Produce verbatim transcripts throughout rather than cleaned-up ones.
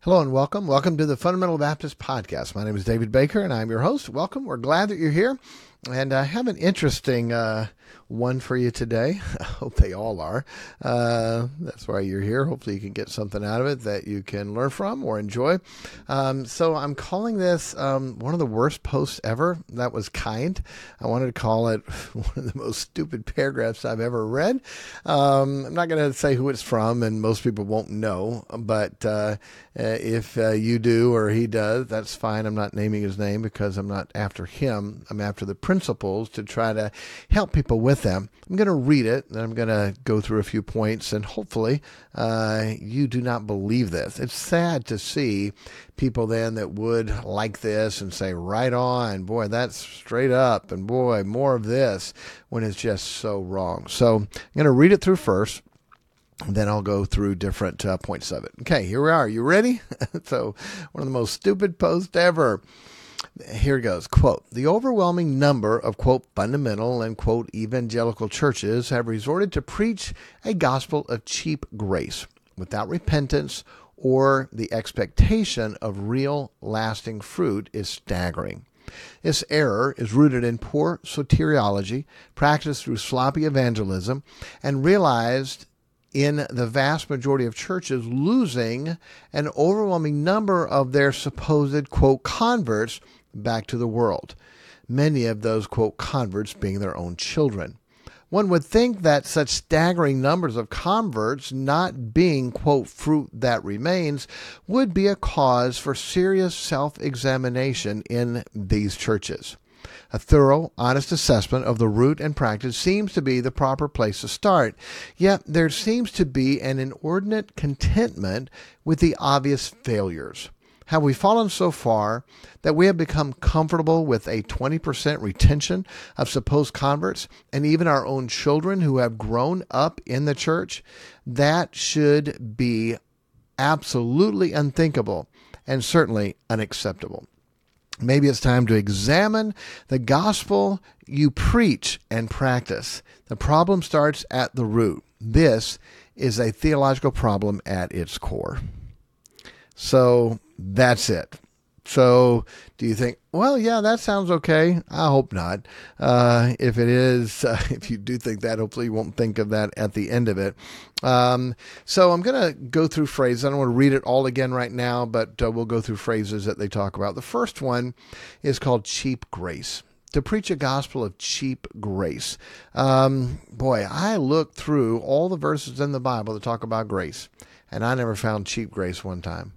Hello and welcome. Welcome to the Fundamental Baptist Podcast. My name is David Baker and I'm your host. Welcome. We're glad that you're here. And I have an interesting uh, one for you today. I hope they all are. Uh, that's why you're here. Hopefully you can get something out of it that you can learn from or enjoy. Um, so I'm calling this um, one of the worst posts ever. That was kind. I wanted to call it one of the most stupid paragraphs I've ever read. Um, I'm not going to say who it's from, and most people won't know. But uh, if uh, you do or he does, that's fine. I'm not naming his name because I'm not after him. I'm after the principles to try to help people with them. I'm going to read it, and I'm going to go through a few points, and hopefully uh, you do not believe this. It's sad to see people then that would like this and say, right on, boy, that's straight up, and boy, more of this, when it's just so wrong. So I'm going to read it through first. And then I'll go through different uh, points of it. Okay, here we are. You ready? So one of the most stupid posts ever. Here it goes. Quote, the overwhelming number of, quote, fundamental and, quote, evangelical churches have resorted to preach a gospel of cheap grace without repentance or the expectation of real lasting fruit is staggering. This error is rooted in poor soteriology, practiced through sloppy evangelism, and realized in the vast majority of churches losing an overwhelming number of their supposed, quote, converts back to the world. Many of those, quote, converts being their own children. One would think that such staggering numbers of converts not being, quote, fruit that remains would be a cause for serious self-examination in these churches. A thorough, honest assessment of the root and practice seems to be the proper place to start, yet there seems to be an inordinate contentment with the obvious failures. Have we fallen so far that we have become comfortable with a twenty percent retention of supposed converts and even our own children who have grown up in the church? That should be absolutely unthinkable and certainly unacceptable. Maybe it's time to examine the gospel you preach and practice. The problem starts at the root. This is a theological problem at its core. So that's it. So do you think, well, yeah, that sounds okay? I hope not. Uh, if it is, uh, if you do think that, hopefully you won't think of that at the end of it. Um, so I'm going to go through phrases. I don't want to read it all again right now, but uh, we'll go through phrases that they talk about. The first one is called cheap grace. To preach a gospel of cheap grace. Um, boy, I looked through all the verses in the Bible that talk about grace, and I never found cheap grace one time.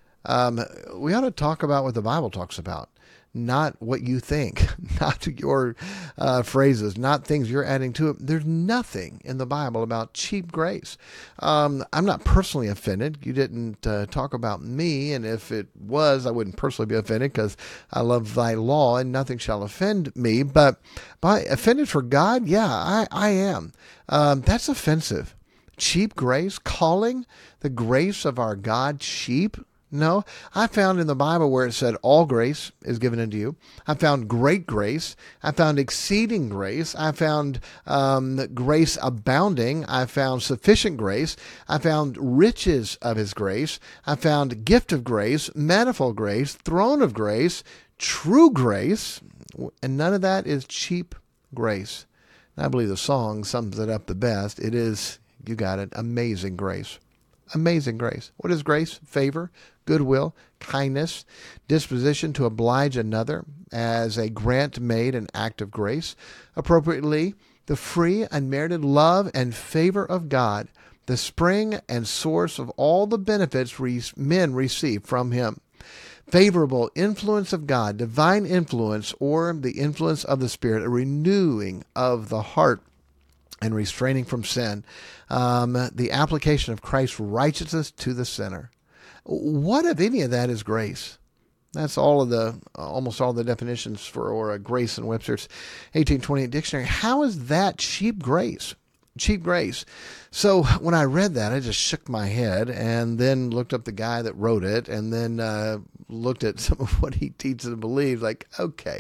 Um, we ought to talk about what the Bible talks about, not what you think, not your uh, phrases, not things you're adding to it. There's nothing in the Bible about cheap grace. Um, I'm not personally offended. You didn't uh, talk about me, and if it was, I wouldn't personally be offended because I love thy law and nothing shall offend me. But by offended for God, yeah, I, I am. Um, that's offensive. Cheap grace, calling the grace of our God cheap. No, I found in the Bible where it said all grace is given unto you. I found great grace. I found exceeding grace. I found um, grace abounding. I found sufficient grace. I found riches of his grace. I found gift of grace, manifold grace, throne of grace, true grace, and none of that is cheap grace. And I believe the song sums it up the best. It is, you got it, amazing grace. Amazing grace. What is grace? Favor, goodwill, kindness, disposition to oblige another as a grant made an act of grace. Appropriately, the free, unmerited love and favor of God, the spring and source of all the benefits re- men receive from him. Favorable influence of God, divine influence, or the influence of the Spirit, a renewing of the heart and restraining from sin, um, the application of Christ's righteousness to the sinner. What, if any of that, is grace? That's all of the, almost all the definitions for or a grace in Webster's eighteen twenty-eight dictionary. How is that cheap grace? Cheap grace. So when I read that, I just shook my head and then looked up the guy that wrote it and then uh, looked at some of what he teaches and believes. Like, okay,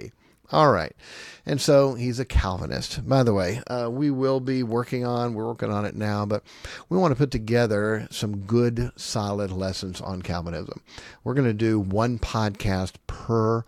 All right. And so he's a Calvinist. By the way, uh, we will be working on, we're working on it now, but we want to put together some good, solid lessons on Calvinism. We're going to do one podcast per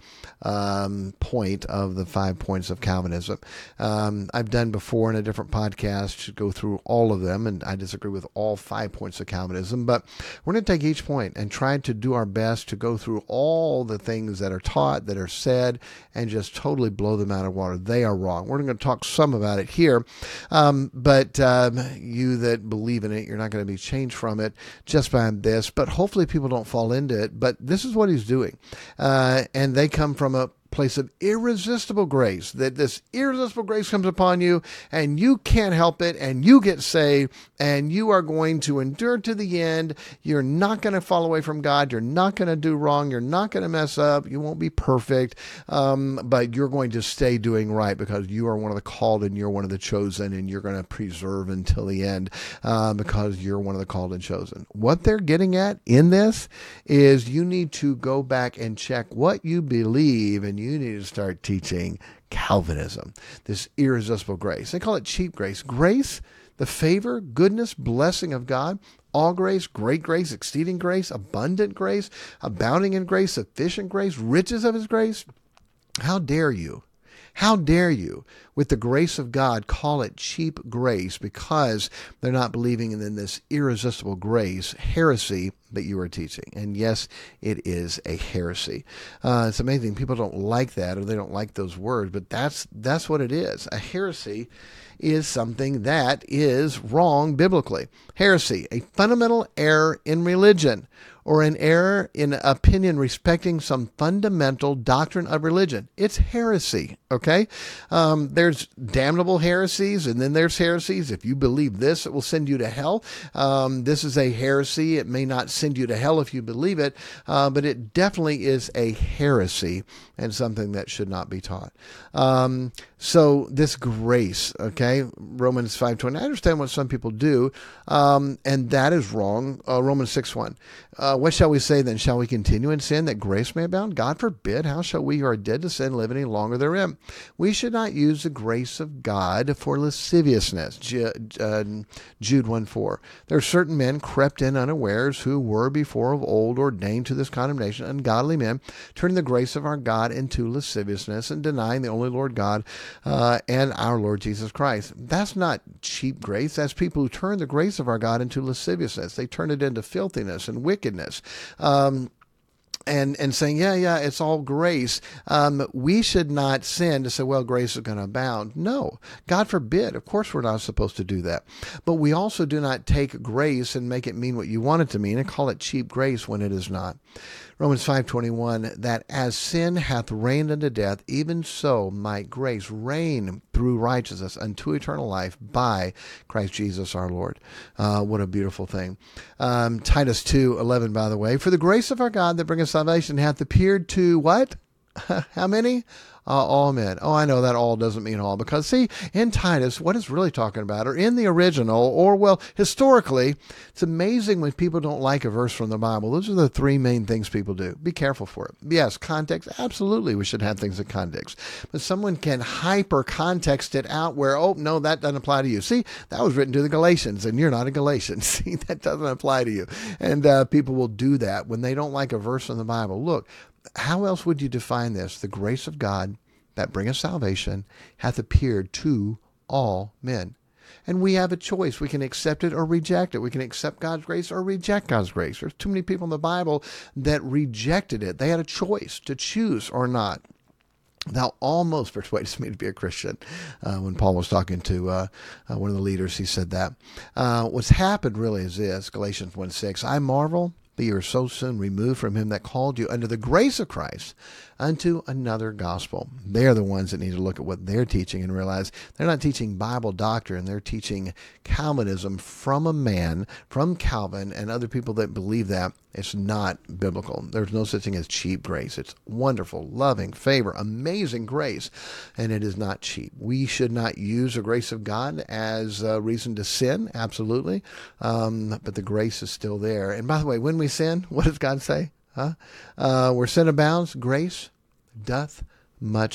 um, point of the five points of Calvinism. Um, I've done before in a different podcast to go through all of them, and I disagree with all five points of Calvinism, but we're going to take each point and try to do our best to go through all the things that are taught, that are said, and just totally blow them out of water. They are wrong. We're going to talk some about it here, um, but um, you that believe in it, you're not going to be changed from it just by this, but hopefully people don't fall into it. But this is what he's doing, uh, and they come from a place of irresistible grace, that this irresistible grace comes upon you and you can't help it and you get saved and you are going to endure to the end. You're not going to fall away from God. You're not going to do wrong. You're not going to mess up. You won't be perfect, um, but you're going to stay doing right because you are one of the called and you're one of the chosen, and you're going to preserve until the end uh, because you're one of the called and chosen. What they're getting at in this is you need to go back and check what you believe, and you need to start teaching Calvinism, this irresistible grace. They call it cheap grace. Grace, the favor, goodness, blessing of God, all grace, great grace, exceeding grace, abundant grace, abounding in grace, sufficient grace, riches of his grace. How dare you? How dare you, with the grace of God, call it cheap grace because they're not believing in this irresistible grace, heresy that you are teaching. And yes, it is a heresy. Uh, it's amazing. People don't like that, or they don't like those words, but that's that's what it is. A heresy is something that is wrong biblically. Heresy, a fundamental error in religion, or an error in opinion respecting some fundamental doctrine of religion. It's heresy, okay? Um, there's damnable heresies, and then there's heresies. If you believe this, it will send you to hell. Um, this is a heresy. It may not send you to hell if you believe it, uh, but it definitely is a heresy and something that should not be taught. Um, so this grace, okay, Romans five twenty, I understand what some people do, um, and that is wrong. Uh, Romans six one, uh, what shall we say then? Shall we continue in sin that grace may abound? God forbid. How shall we who are dead to sin live any longer therein? We should not use the grace of God for lasciviousness. Jude, uh, Jude one four. There are certain men crept in unawares who were before of old ordained to this condemnation, ungodly men, turning the grace of our God into lasciviousness and denying the only Lord God uh, and our Lord Jesus Christ. That's not cheap grace. That's people who turn the grace of our God into lasciviousness. They turn it into filthiness and wickedness. Um, And and saying, yeah, yeah, it's all grace. Um, we should not sin to say, well, grace is going to abound. No, God forbid. Of course, we're not supposed to do that. But we also do not take grace and make it mean what you want it to mean and call it cheap grace when it is not. Romans five twenty-one, that as sin hath reigned unto death, even so might grace reign through righteousness unto eternal life by Christ Jesus our Lord. Uh, what a beautiful thing. Um, Titus two eleven, by the way, for the grace of our God that bringeth salvation hath appeared to what? How many? Uh, all men. Oh, I know that all doesn't mean all, because see, in Titus, what it's really talking about, or in the original, or well, historically, it's amazing when people don't like a verse from the Bible. Those are the three main things people do. Be careful for it. Yes, context. Absolutely, we should have things in context. But someone can hyper context it out where, oh, no, that doesn't apply to you. See, that was written to the Galatians, and you're not a Galatian. See, that doesn't apply to you. And uh, people will do that when they don't like a verse from the Bible. Look, how else would you define this? The grace of God that bringeth salvation hath appeared to all men. And we have a choice. We can accept it or reject it. We can accept God's grace or reject God's grace. There's too many people in the Bible that rejected it. They had a choice to choose or not. Thou almost persuadest me to be a Christian. Uh, when Paul was talking to uh, uh, one of the leaders, he said that. Uh, what's happened really is this, Galatians one six, I marvel that you are so soon removed from him that called you under the grace of Christ unto another gospel. They're the ones that need to look at what they're teaching and realize they're not teaching Bible doctrine. They're teaching Calvinism from a man, from Calvin and other people that believe that. It's not biblical. There's no such thing as cheap grace. It's wonderful, loving, favor, amazing grace, and it is not cheap. We should not use the grace of God as a reason to sin, absolutely, um, but the grace is still there. And by the way, when we sin, what does God say? Huh? Uh, where sin abounds, grace doth much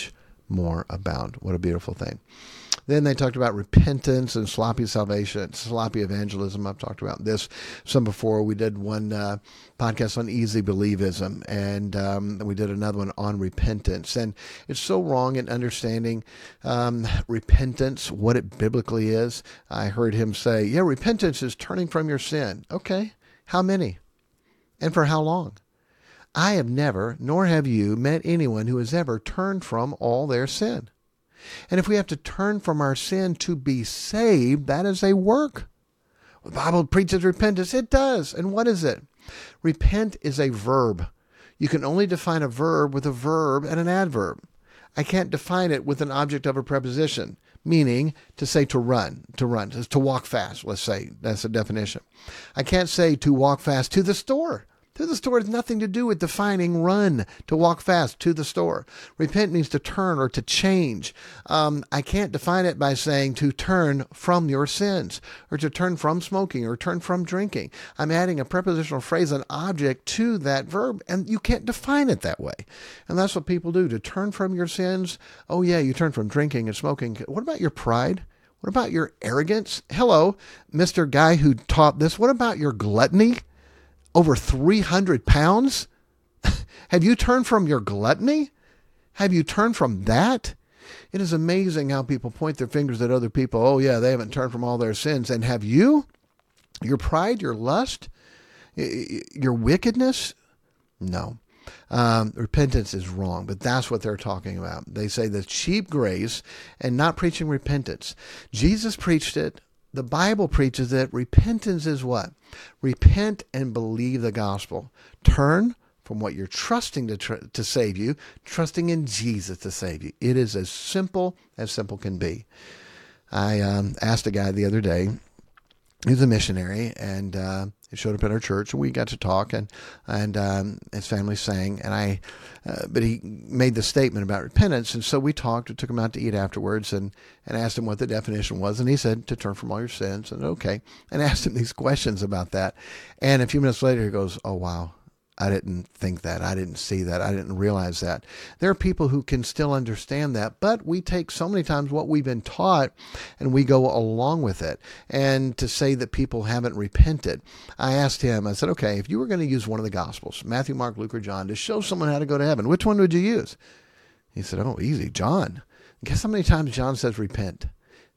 more abound. What a beautiful thing. Then they talked about repentance and sloppy salvation, sloppy evangelism. I've talked about this some before. We did one uh, podcast on easy believism, and um, we did another one on repentance. And it's so wrong in understanding um, repentance, what it biblically is. I heard him say, yeah, repentance is turning from your sin. Okay, how many? And for how long? I have never, nor have you, met anyone who has ever turned from all their sin. And if we have to turn from our sin to be saved, that is a work. The Bible preaches repentance. It does. And what is it? Repent is a verb. You can only define a verb with a verb and an adverb. I can't define it with an object of a preposition, meaning to say to run, to run, to walk fast, let's say. That's the definition. I can't say to walk fast to the store. To the store has nothing to do with defining run, to walk fast, to the store. Repent means to turn or to change. Um, I can't define it by saying to turn from your sins or to turn from smoking or turn from drinking. I'm adding a prepositional phrase, an object to that verb, and you can't define it that way. And that's what people do, to turn from your sins. Oh yeah, you turn from drinking and smoking. What about your pride? What about your arrogance? Hello, Mister Guy who taught this. What about your gluttony? Over three hundred pounds? Have you turned from your gluttony? Have you turned from that? It is amazing how people point their fingers at other people. Oh yeah, they haven't turned from all their sins. And have you? Your pride, your lust, your wickedness? No. Um, repentance is wrong, but that's what they're talking about. They say the cheap grace and not preaching repentance. Jesus preached it. The Bible preaches that repentance is what? Repent and believe the gospel. Turn from what you're trusting to tr- to save you, trusting in Jesus to save you. It is as simple as simple can be. I um, asked a guy the other day, he's a missionary, and uh, he showed up at our church, and we got to talk, and and um, his family sang, and I, uh, but he made the statement about repentance, and so we talked. We took him out to eat afterwards, and and asked him what the definition was, and he said to turn from all your sins, and okay, and asked him these questions about that, and a few minutes later he goes, "Oh wow, I didn't think that. I didn't see that. I didn't realize that." There are people who can still understand that, but we take so many times what we've been taught and we go along with it. And to say that people haven't repented, I asked him, I said, okay, if you were going to use one of the Gospels, Matthew, Mark, Luke, or John, to show someone how to go to heaven, which one would you use? He said, oh, easy, John. Guess how many times John says repent?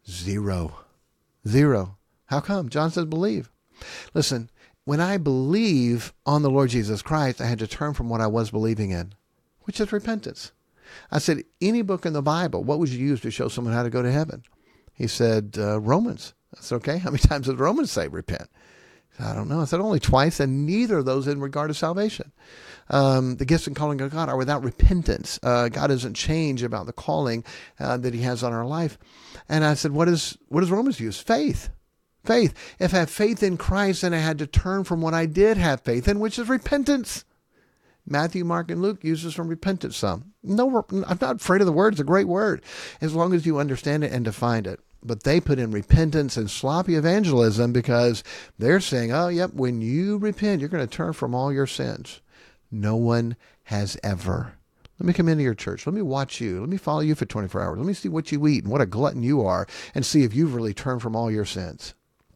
Zero. Zero. How come? John says believe. Listen, when I believe on the Lord Jesus Christ, I had to turn from what I was believing in, which is repentance. I said, any book in the Bible, what would you use to show someone how to go to heaven? He said, uh, Romans. I said, okay, how many times does Romans say repent? He said, I don't know. I said, only twice, and neither of those in regard to salvation. Um, the gifts and calling of God are without repentance. Uh, God doesn't change about the calling uh, that he has on our life. And I said, what is what does Romans use? Faith. Faith. If I have faith in Christ, then I had to turn from what I did have faith in, which is repentance. Matthew, Mark, and Luke uses from repentance some. No, I'm not afraid of the word. It's a great word, as long as you understand it and define it. But they put in repentance and sloppy evangelism because they're saying, oh, yep, when you repent, you're going to turn from all your sins. No one has ever. Let me come into your church. Let me watch you. Let me follow you for twenty-four hours. Let me see what you eat and what a glutton you are and see if you've really turned from all your sins.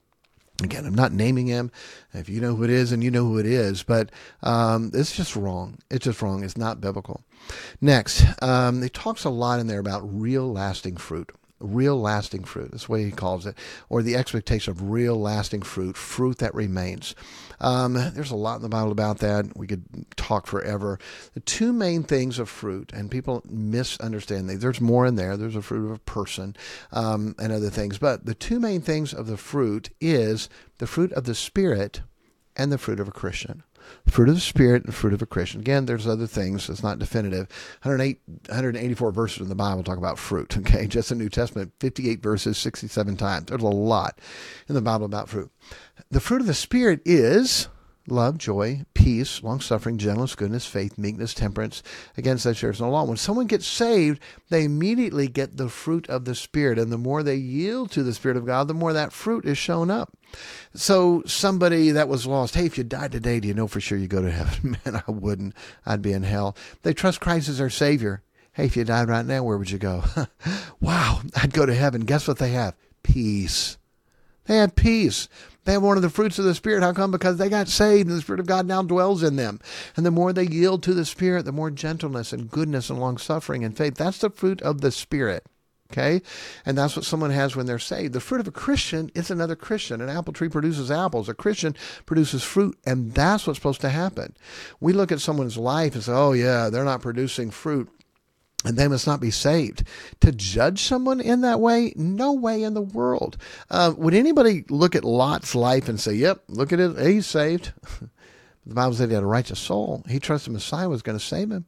Again, I'm not naming him. If you know who it is, and you know who it is, but um, it's just wrong. It's just wrong. It's not biblical. Next, um, he talks a lot in there about real lasting fruit. Real lasting fruit. That's the way he calls it. Or the expectation of real lasting fruit, fruit that remains. Um, there's a lot in the Bible about that. We could talk forever. The two main things of fruit, and people misunderstand these. There's more in there. There's a fruit of a person um, and other things. But the two main things of the fruit is the fruit of the Spirit and the fruit of a Christian. Fruit of the Spirit and fruit of a Christian. Again, there's other things. It's not definitive. one hundred eight, one hundred eighty-four verses in the Bible talk about fruit. Okay, just the New Testament, fifty-eight verses, sixty-seven times. There's a lot in the Bible about fruit. The fruit of the Spirit is love, joy, peace, long-suffering, gentleness, goodness, faith, meekness, temperance. Against such there is no law. When someone gets saved, they immediately get the fruit of the Spirit. And the more they yield to the Spirit of God, the more that fruit is shown up. So somebody that was lost, hey, if you died today, do you know for sure you go to heaven? Man, I wouldn't. I'd be in hell. They trust Christ as their Savior. Hey, if you died right now, where would you go? Wow, I'd go to heaven. Guess what they have? Peace. They had peace. They have one of the fruits of the Spirit. How come? Because they got saved and the Spirit of God now dwells in them. And the more they yield to the Spirit, the more gentleness and goodness and long-suffering and faith. That's the fruit of the Spirit. Okay? And that's what someone has when they're saved. The fruit of a Christian is another Christian. An apple tree produces apples. A Christian produces fruit. And that's what's supposed to happen. We look at someone's life and say, oh yeah, they're not producing fruit, and they must not be saved. To judge someone in that way, no way in the world. Uh, would anybody look at Lot's life and say, yep, look at it, he's saved? The Bible said he had a righteous soul. He trusted Messiah was going to save him.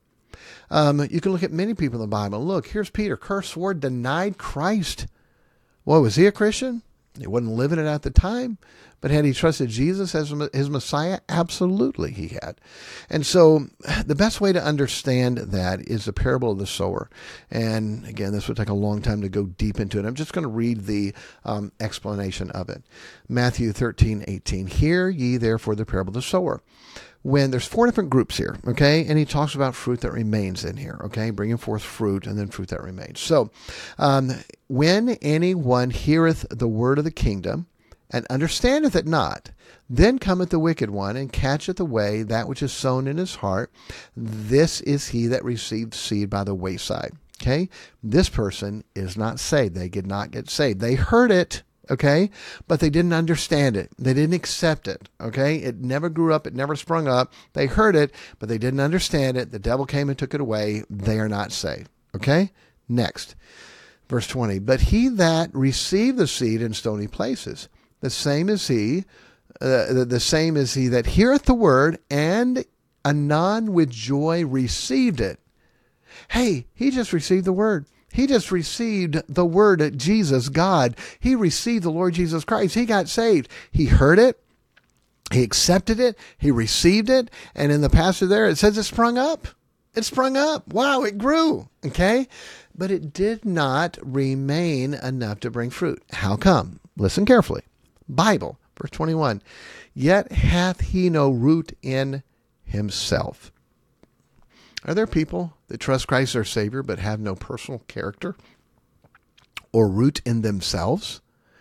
Um, you can look at many people in the Bible. Look, here's Peter. Cursed, swore, denied Christ. Well, was he a Christian? He wasn't living it at the time. But had he trusted Jesus as his Messiah? Absolutely he had. And so the best way to understand that is the parable of the sower. And again, this would take a long time to go deep into it. I'm just going to read the um, explanation of it. Matthew thirteen eighteen. Hear ye therefore the parable of the sower. When there's four different groups here, okay, and he talks about fruit that remains in here, okay, bringing forth fruit and then fruit that remains. So um, when anyone heareth the word of the kingdom and understandeth it not, then cometh the wicked one and catcheth away that which is sown in his heart. This is he that received seed by the wayside. Okay, this person is not saved. They did not get saved. They heard it. Okay, but they didn't understand it. They didn't accept it. Okay, it never grew up. It never sprung up. They heard it, but they didn't understand it. The devil came and took it away. They are not saved. Okay, next, verse twenty. But he that received the seed in stony places, the same is he, uh, the, the same is he that heareth the word and anon with joy received it. Hey, he just received the word. He just received the word of Jesus, God. He received the Lord Jesus Christ. He got saved. He heard it. He accepted it. He received it. And in the passage there, it says it sprung up. It sprung up. Wow, it grew. Okay? But it did not remain enough to bring fruit. How come? Listen carefully. Bible, verse twenty-one. Yet hath he no root in himself. Are there people that trust Christ as their Savior but have no personal character or root in themselves?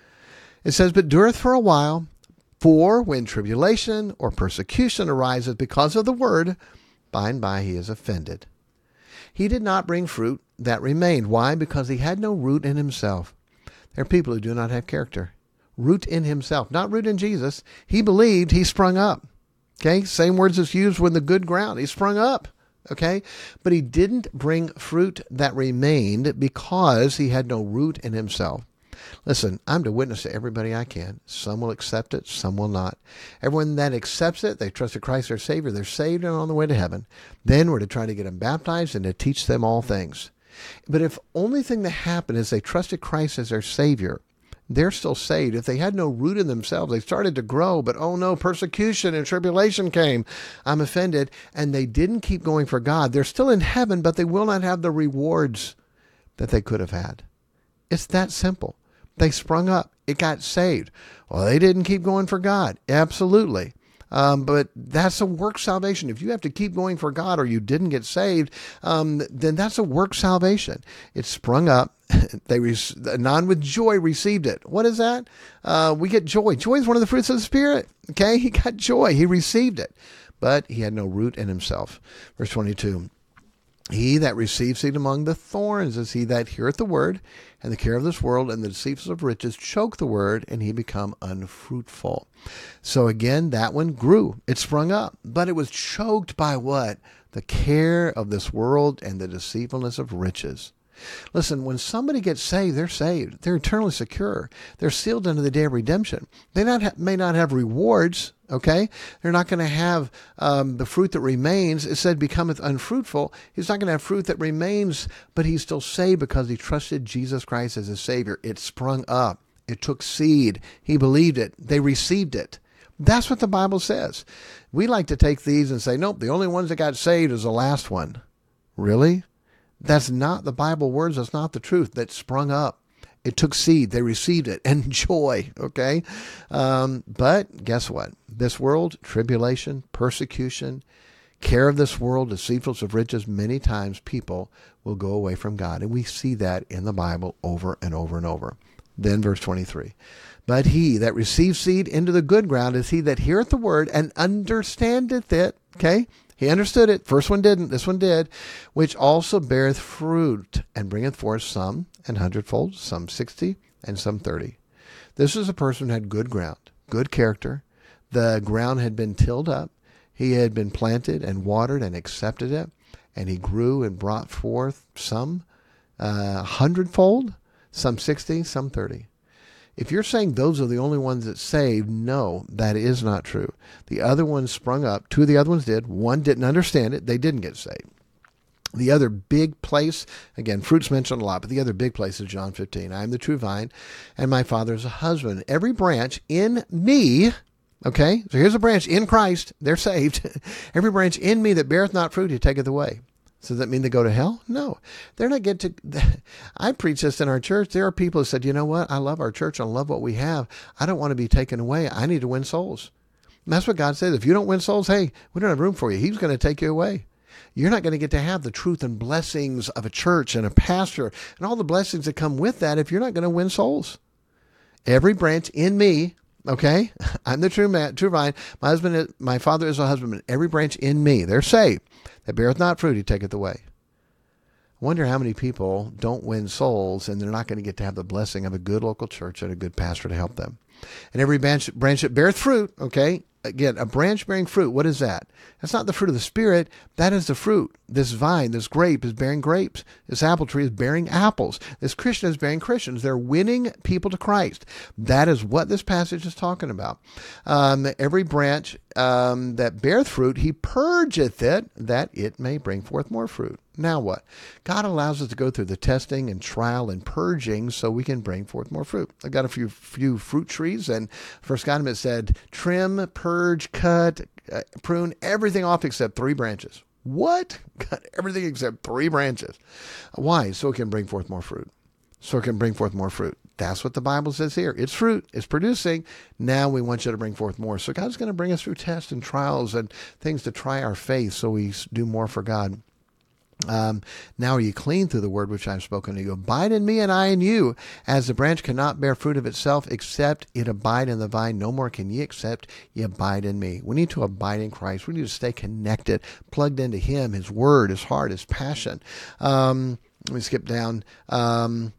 It says, but dureth for a while, for when tribulation or persecution arises because of the word, by and by he is offended. He did not bring fruit that remained. Why? Because he had no root in himself. There are people who do not have character. Root in himself, not root in Jesus. He believed, he sprung up. Okay, same words as used when the good ground. He sprung up. Okay, but he didn't bring fruit that remained because he had no root in himself. Listen, I'm to witness to everybody I can. Some will accept it, some will not. Everyone that accepts it, they trusted Christ their Savior, they're saved and on the way to heaven. Then we're to try to get them baptized and to teach them all things. But if only thing that happened is they trusted Christ as their Savior, they're still saved. If they had no root in themselves, they started to grow, but oh no, persecution and tribulation came. I'm offended. And they didn't keep going for God. They're still in heaven, but they will not have the rewards that they could have had. It's that simple. They sprung up. It got saved. Well, they didn't keep going for God. Absolutely. Um, but that's a work salvation. If you have to keep going for God or you didn't get saved, um, then that's a work salvation. It sprung up. They re- anon with joy received it. What is that? Uh, we get joy. Joy is one of the fruits of the Spirit. Okay, he got joy. He received it, but he had no root in himself. Verse twenty-two. He that receives seed among the thorns is he that heareth the word, and the care of this world and the deceits of riches choke the word, and he become unfruitful. So again, that one grew. It sprung up, but it was choked by what? The care of this world and the deceitfulness of riches. Listen, when somebody gets saved, they're saved. They're eternally secure. They're sealed unto the day of redemption. They not ha- may not have rewards, okay? They're not going to have um, the fruit that remains. It said becometh unfruitful. He's not going to have fruit that remains, but he's still saved because he trusted Jesus Christ as his Savior. It sprung up. It took seed. He believed it. They received it. That's what the Bible says. We like to take these and say, nope, the only ones that got saved is the last one. Really? That's not the Bible words. That's not the truth. That sprung up. It took seed. They received it. And joy. Okay. Um, but guess what? This world, tribulation, persecution care of this world, deceitfulness of riches, many times people will go away from God. And we see that in the Bible over and over and over. Then verse twenty-three. But he that receives seed into the good ground is he that heareth the word and understandeth it. Okay? He understood it. First one didn't. This one did. Which also beareth fruit and bringeth forth some an hundredfold, some sixty, and some thirty. This is a person who had good ground, good character. The ground had been tilled up. He had been planted and watered and accepted it. And he grew and brought forth some uh, hundredfold, some sixty, some thirty. If you're saying those are the only ones that saved, no, that is not true. The other ones sprung up. Two of the other ones did. One didn't understand it. They didn't get saved. The other big place, again, fruit's mentioned a lot, but the other big place is John fifteen. I am the true vine, and my Father is a husband. Every branch in me, okay, so here's a branch in Christ. They're saved. Every branch in me that beareth not fruit, he taketh away. So does that mean they go to hell? No. They're not get to, I preach this in our church. There are people who said, you know what? I love our church. I love what we have. I don't want to be taken away. I need to win souls. And that's what God says. If you don't win souls, hey, we don't have room for you. He's going to take you away. You're not going to get to have the truth and blessings of a church and a pastor and all the blessings that come with that if you're not going to win souls. Every branch in me, okay, I'm the true man, true vine. My husband, is, my Father is a husbandman. Every branch in me, they're saved. That beareth not fruit, he taketh away. I wonder how many people don't win souls and they're not going to get to have the blessing of a good local church and a good pastor to help them. And every branch, branch that beareth fruit, okay, again, a branch bearing fruit, what is that? That's not the fruit of the Spirit. That is the fruit. This vine, this grape is bearing grapes. This apple tree is bearing apples. This Christian is bearing Christians. They're winning people to Christ. That is what this passage is talking about. Um, every branch um, that beareth fruit, he purgeth it, that it may bring forth more fruit. Now what? God allows us to go through the testing and trial and purging so we can bring forth more fruit. I've got a few few fruit trees, and first got them, it said, trim, purge, cut, uh, prune, everything off except three branches. What? Cut everything except three branches. Why? So it can bring forth more fruit. So it can bring forth more fruit. That's what the Bible says here. It's fruit. It's producing. Now we want you to bring forth more. So God's going to bring us through tests and trials and things to try our faith so we do more for God. Um, now are you clean through the word which I have spoken to you? Abide in me and I in you, as the branch cannot bear fruit of itself except it abide in the vine. No more can ye except ye abide in me. We need to abide in Christ. We need to stay connected, plugged into him, his word, his heart, his passion. Um, let me skip down. Um,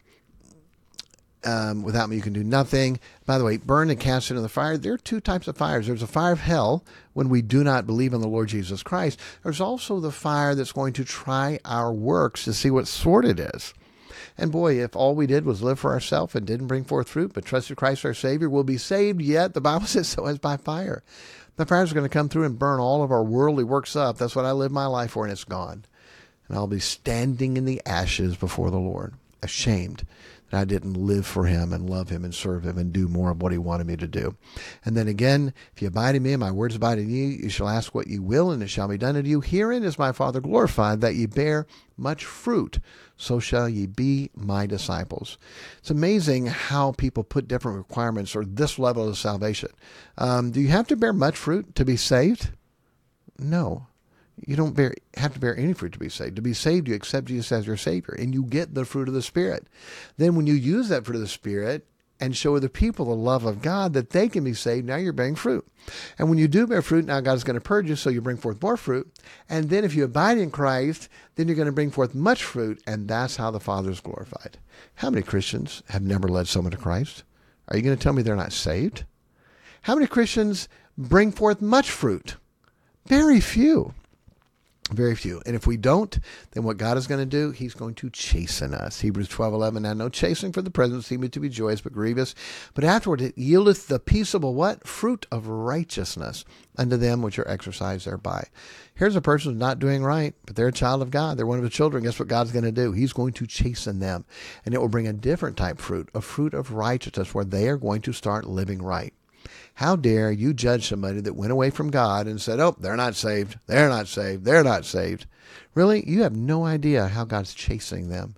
Um, without me, you can do nothing. By the way, burn and cast into the fire. There are two types of fires. There's a fire of hell when we do not believe in the Lord Jesus Christ. There's also the fire that's going to try our works to see what sort it is. And boy, if all we did was live for ourselves and didn't bring forth fruit, but trusted Christ our Savior, we'll be saved, yet the Bible says so as by fire. The fire is going to come through and burn all of our worldly works up. That's what I live my life for, and it's gone. And I'll be standing in the ashes before the Lord, ashamed that I didn't live for him and love him and serve him and do more of what he wanted me to do. And then again, if you abide in me and my words abide in you, you shall ask what you will, and it shall be done unto you. Herein is my Father glorified, that ye bear much fruit. So shall ye be my disciples. It's amazing how people put different requirements or this level of salvation. Um, do you have to bear much fruit to be saved? No. You don't bear, have to bear any fruit to be saved. To be saved, you accept Jesus as your Savior, and you get the fruit of the Spirit. Then when you use that fruit of the Spirit and show other people the love of God that they can be saved, now you're bearing fruit. And when you do bear fruit, now God's going to purge you, so you bring forth more fruit. And then if you abide in Christ, then you're going to bring forth much fruit, and that's how the Father is glorified. How many Christians have never led someone to Christ? Are you going to tell me they're not saved? How many Christians bring forth much fruit? Very few. Very few. And if we don't, then what God is going to do, he's going to chasten us. Hebrews twelve eleven, now no chastening for the present seemeth to be joyous, but grievous. But afterward it yieldeth the peaceable what? Fruit of righteousness unto them which are exercised thereby. Here's a person who's not doing right, but they're a child of God. They're one of his children. Guess what God's going to do? He's going to chasten them. And it will bring a different type of fruit, a fruit of righteousness, where they are going to start living right. How dare you judge somebody that went away from God and said, oh, they're not saved, they're not saved, they're not saved. Really? You have no idea how God's chastening them.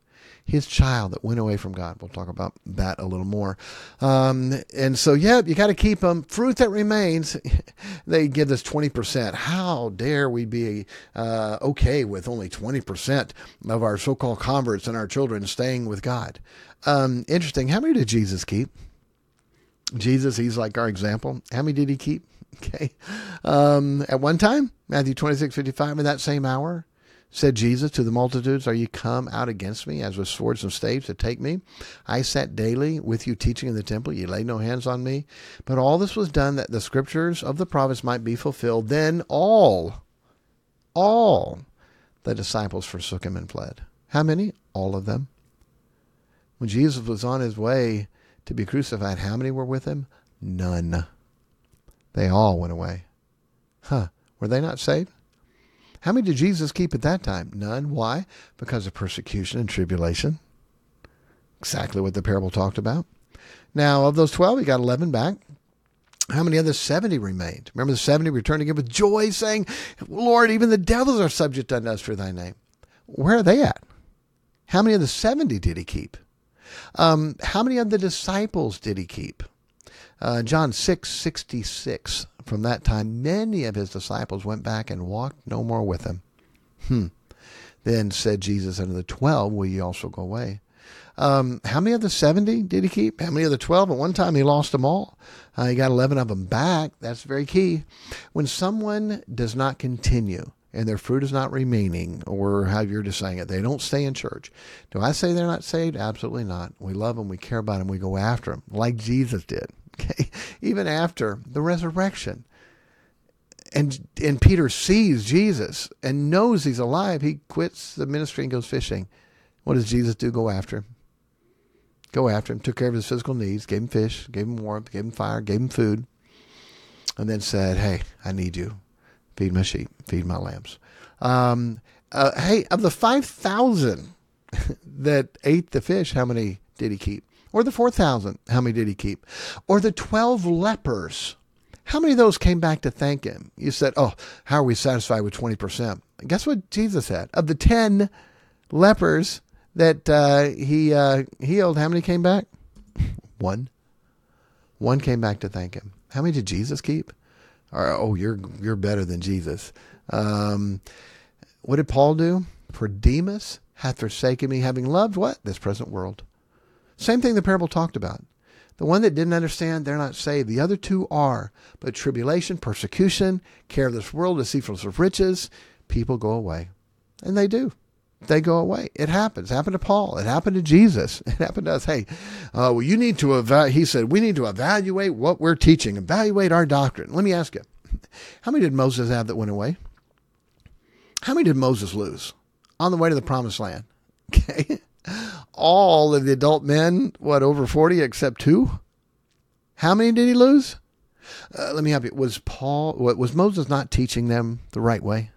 his child that went away from God. We'll talk about that a little more. Um, and so, yeah, you got to keep them. Fruit that remains, they give us twenty percent. How dare we be uh, okay with only twenty percent of our so-called converts and our children staying with God? Um, interesting. How many did Jesus keep? Jesus, he's like our example. How many did he keep? Okay. Um, at one time, Matthew twenty-six fifty-five, in that same hour, said Jesus to the multitudes, are you come out against me as with swords and staves to take me? I sat daily with you teaching in the temple. You laid no hands on me. But all this was done that the scriptures of the prophets might be fulfilled. Then all, all the disciples forsook him and fled. How many? All of them. When Jesus was on his way to be crucified, how many were with him? None. They all went away. Huh. Were they not saved? How many did Jesus keep at that time? None. Why? Because of persecution and tribulation. Exactly what the parable talked about. Now, of those twelve, he got eleven back. How many of the seventy remained? Remember the seventy returned again with joy, saying, Lord, even the devils are subject unto us for thy name. Where are they at? How many of the seventy did he keep? Um, how many of the disciples did he keep? Uh, John six sixty-six. From that time, many of his disciples went back and walked no more with him. Hmm. Then said Jesus unto the twelve, will ye also go away? Um, how many of the seventy did he keep? How many of the twelve? At one time, he lost them all. Uh, he got eleven of them back. That's very key. When someone does not continue and their fruit is not remaining, or how you're just saying it, they don't stay in church. Do I say they're not saved? Absolutely not. We love them. We care about them. We go after them like Jesus did. Okay, even after the resurrection. And and Peter sees Jesus and knows he's alive. He quits the ministry and goes fishing. What does Jesus do? Go after him. Go after him. Took care of his physical needs. Gave him fish. Gave him warmth. Gave him fire. Gave him food. And then said, hey, I need you. Feed my sheep. Feed my lambs. Um, uh, hey, of the five thousand that ate the fish, how many did he keep? Or the four thousand, how many did he keep? Or the twelve lepers, how many of those came back to thank him? You said, oh, how are we satisfied with twenty percent? Guess what Jesus said? Of the ten lepers that uh, he uh, healed, how many came back? One. One came back to thank him. How many did Jesus keep? Or, oh, you're you're better than Jesus. Um, what did Paul do? For Demas hath forsaken me, having loved what? This present world. Same thing the parable talked about. The one that didn't understand, they're not saved. The other two are. But tribulation, persecution, care of this world, deceitfulness of riches, people go away. And they do. They go away. It happens. It happened to Paul. It happened to Jesus. It happened to us. Hey, uh, well, you need to evaluate. He said, we need to evaluate what we're teaching, evaluate our doctrine. Let me ask you, how many did Moses have that went away? How many did Moses lose on the way to the promised land? Okay. All of the adult men, what, over forty, except two? How many did he lose? Uh, let me help you. Was Paul, was Moses not teaching them the right way?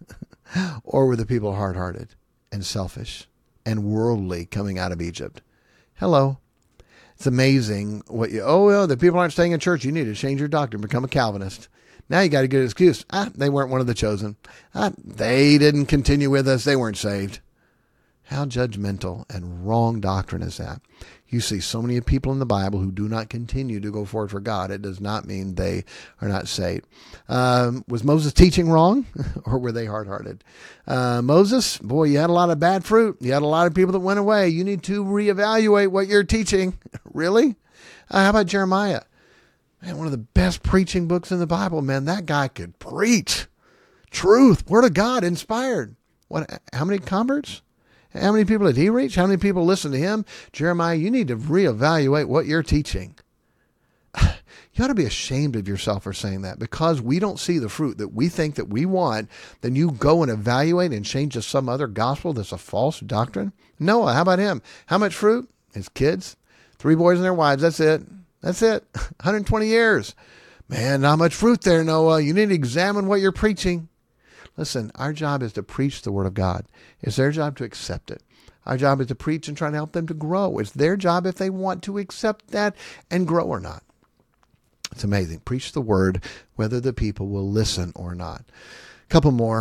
Or were the people hard-hearted and selfish and worldly coming out of Egypt? Hello. It's amazing what you, oh, well, the people aren't staying in church. You need to change your doctrine, become a Calvinist. Now you got a good excuse. Ah, they weren't one of the chosen. Ah, they didn't continue with us. They weren't saved. How judgmental and wrong doctrine is that? You see so many people in the Bible who do not continue to go forward for God. It does not mean they are not saved. Um, was Moses teaching wrong, or were they hard-hearted? Uh, Moses, boy, you had a lot of bad fruit. You had a lot of people that went away. You need to reevaluate what you're teaching. Really? Uh, how about Jeremiah? Man, one of the best preaching books in the Bible. Man, that guy could preach truth, word of God, inspired. What? How many converts? How many people did he reach? How many people listened to him? Jeremiah, you need to reevaluate what you're teaching. You ought to be ashamed of yourself for saying that, because we don't see the fruit that we think that we want. Then you go and evaluate and change to some other gospel that's a false doctrine. Noah, how about him? How much fruit? His kids, three boys and their wives. That's it. That's it. one hundred twenty years. Man, not much fruit there, Noah. You need to examine what you're preaching. Listen, our job is to preach the word of God. It's their job to accept it. Our job is to preach and try to help them to grow. It's their job if they want to accept that and grow or not. It's amazing. Preach the word, whether the people will listen or not. A couple more.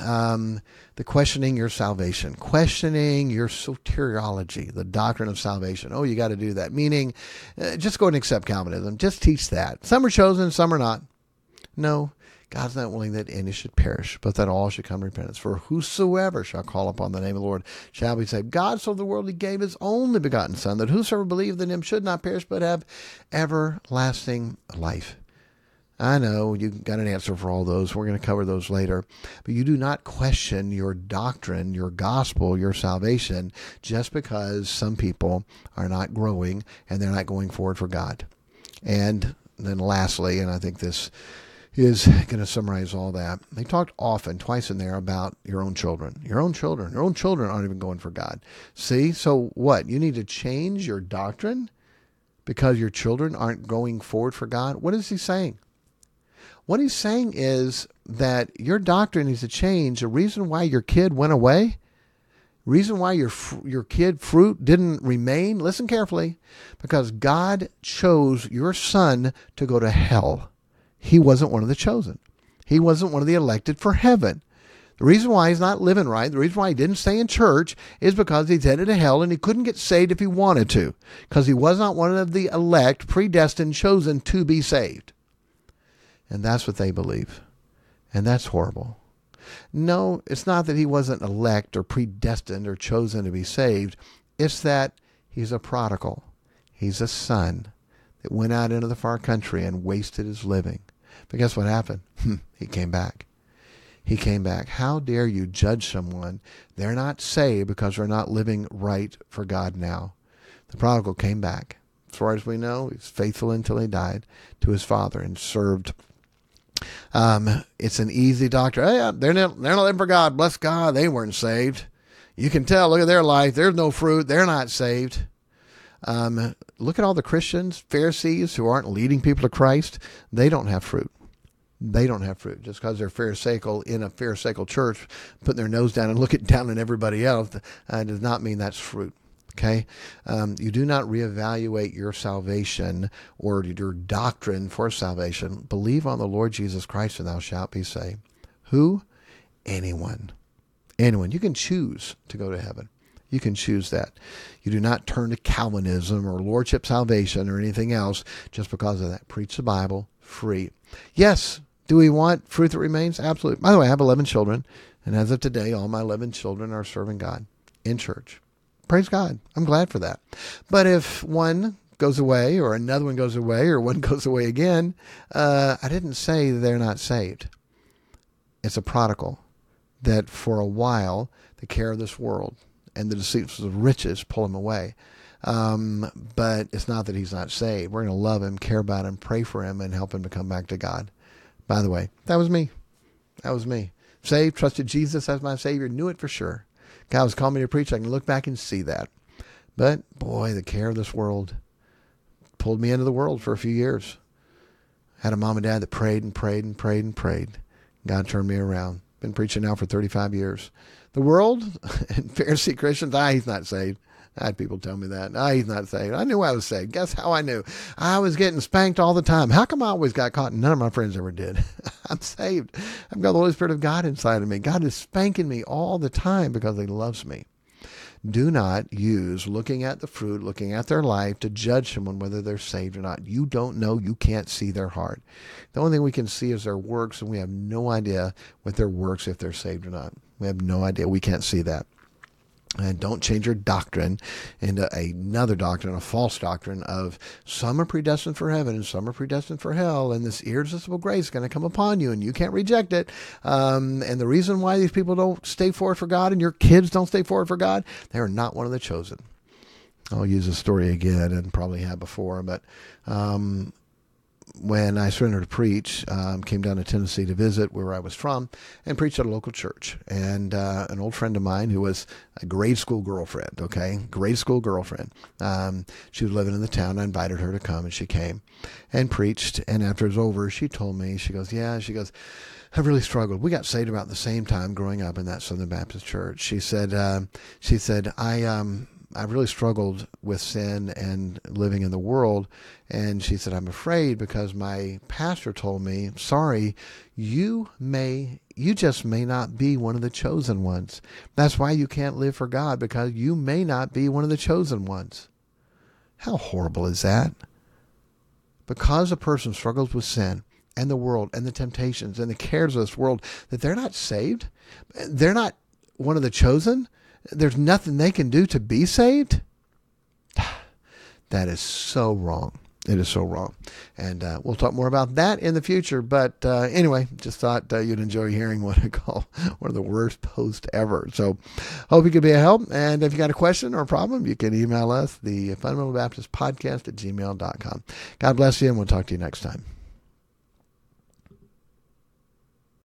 um, the questioning your salvation, questioning your soteriology, the doctrine of salvation. Oh, you got to do that. Meaning, uh, just go and accept Calvinism. Just teach that. Some are chosen, some are not. No, God's not willing that any should perish, but that all should come to repentance. For whosoever shall call upon the name of the Lord shall be saved. God so the world he gave his only begotten Son, that whosoever believeth in him should not perish, but have everlasting life. I know you got an answer for all those. We're going to cover those later. But you do not question your doctrine, your gospel, your salvation, just because some people are not growing and they're not going forward for God. And then lastly, and I think this is going to summarize all that, they talked often, twice in there, about your own children. Your own children. Your own children aren't even going for God. See? So what? You need to change your doctrine because your children aren't going forward for God? What is he saying? What he's saying is that your doctrine needs to change. The reason why your kid went away, reason why your your kid fruit didn't remain, listen carefully, because God chose your son to go to hell. He wasn't one of the chosen. He wasn't one of the elected for heaven. The reason why he's not living right, the reason why he didn't stay in church is because he's headed to hell and he couldn't get saved if he wanted to, because he was not one of the elect, predestined, chosen to be saved. And that's what they believe. And that's horrible. No, it's not that he wasn't elect or predestined or chosen to be saved. It's that he's a prodigal. He's a son that went out into the far country and wasted his living. But guess what happened? He came back. He came back. How dare you judge someone? They're not saved because they're not living right for God now. The prodigal came back. As far as we know, he's faithful until he died to his father and served. Um, it's an easy doctrine. Oh, yeah, they're not, they're not living for God. Bless God, they weren't saved. You can tell, look at their life. There's no fruit. They're not saved. Um, look at all the Christians, Pharisees who aren't leading people to Christ. They don't have fruit. They don't have fruit. Just because they're Pharisaical in a Pharisaical church, putting their nose down and looking down on everybody else, uh, does not mean that's fruit. Okay, um, you do not reevaluate your salvation or your doctrine for salvation. Believe on the Lord Jesus Christ and thou shalt be saved. Who? Anyone. Anyone. You can choose to go to heaven. You can choose that. You do not turn to Calvinism or Lordship salvation or anything else just because of that. Preach the Bible free. Yes, do we want fruit that remains? Absolutely. By the way, I have eleven children, and as of today, all my eleven children are serving God in church. Praise God. I'm glad for that. But if one goes away or another one goes away or one goes away again, uh, I didn't say they're not saved. It's a prodigal that for a while the care of this world and the deceits of riches pull him away. Um, but it's not that he's not saved. We're going to love him, care about him, pray for him, and help him to come back to God. By the way, that was me. That was me. Saved, trusted Jesus as my Savior, knew it for sure. God was calling me to preach. I can look back and see that. But, boy, the care of this world pulled me into the world for a few years. I had a mom and dad that prayed and prayed and prayed and prayed. God turned me around. Been preaching now for thirty-five years. The world and Pharisee Christians, ah, he's not saved. I had people tell me that. Ah, he's not saved. I knew I was saved. Guess how I knew? I was getting spanked all the time. How come I always got caught and none of my friends ever did? I'm saved. I've got the Holy Spirit of God inside of me. God is spanking me all the time because he loves me. Do not use looking at the fruit, looking at their life to judge someone whether they're saved or not. You don't know. You can't see their heart. The only thing we can see is their works, and we have no idea what their works if they're saved or not. We have no idea. We can't see that. And don't change your doctrine into another doctrine, a false doctrine of some are predestined for heaven and some are predestined for hell, and this irresistible grace is going to come upon you and you can't reject it. Um, and the reason why these people don't stay forward for God and your kids don't stay forward for God, they are not one of the chosen. I'll use a story again and probably have before, but um, when I surrendered to preach, um, came down to Tennessee to visit where I was from and preached at a local church. And uh, an old friend of mine who was a grade school girlfriend, okay, grade school girlfriend, um, she was living in the town. I invited her to come, and she came and preached. And after it was over, she told me, she goes, yeah, she goes, I've really struggled. We got saved about the same time growing up in that Southern Baptist church. She said, uh, she said, I, um, I've really struggled with sin and living in the world. And she said, I'm afraid because my pastor told me, sorry, you may, you just may not be one of the chosen ones. That's why you can't live for God, because you may not be one of the chosen ones. How horrible is that? Because a person struggles with sin and the world and the temptations and the cares of this world, that they're not saved. They're not one of the chosen. There's nothing they can do to be saved. That is so wrong. It is so wrong. And uh, we'll talk more about that in the future. But uh, anyway, just thought uh, you'd enjoy hearing what I call one of the worst posts ever. So hope you could be a help. And if you got a question or a problem, you can email us, the Fundamental Baptist Podcast at gmail dot com. God bless you, and we'll talk to you next time.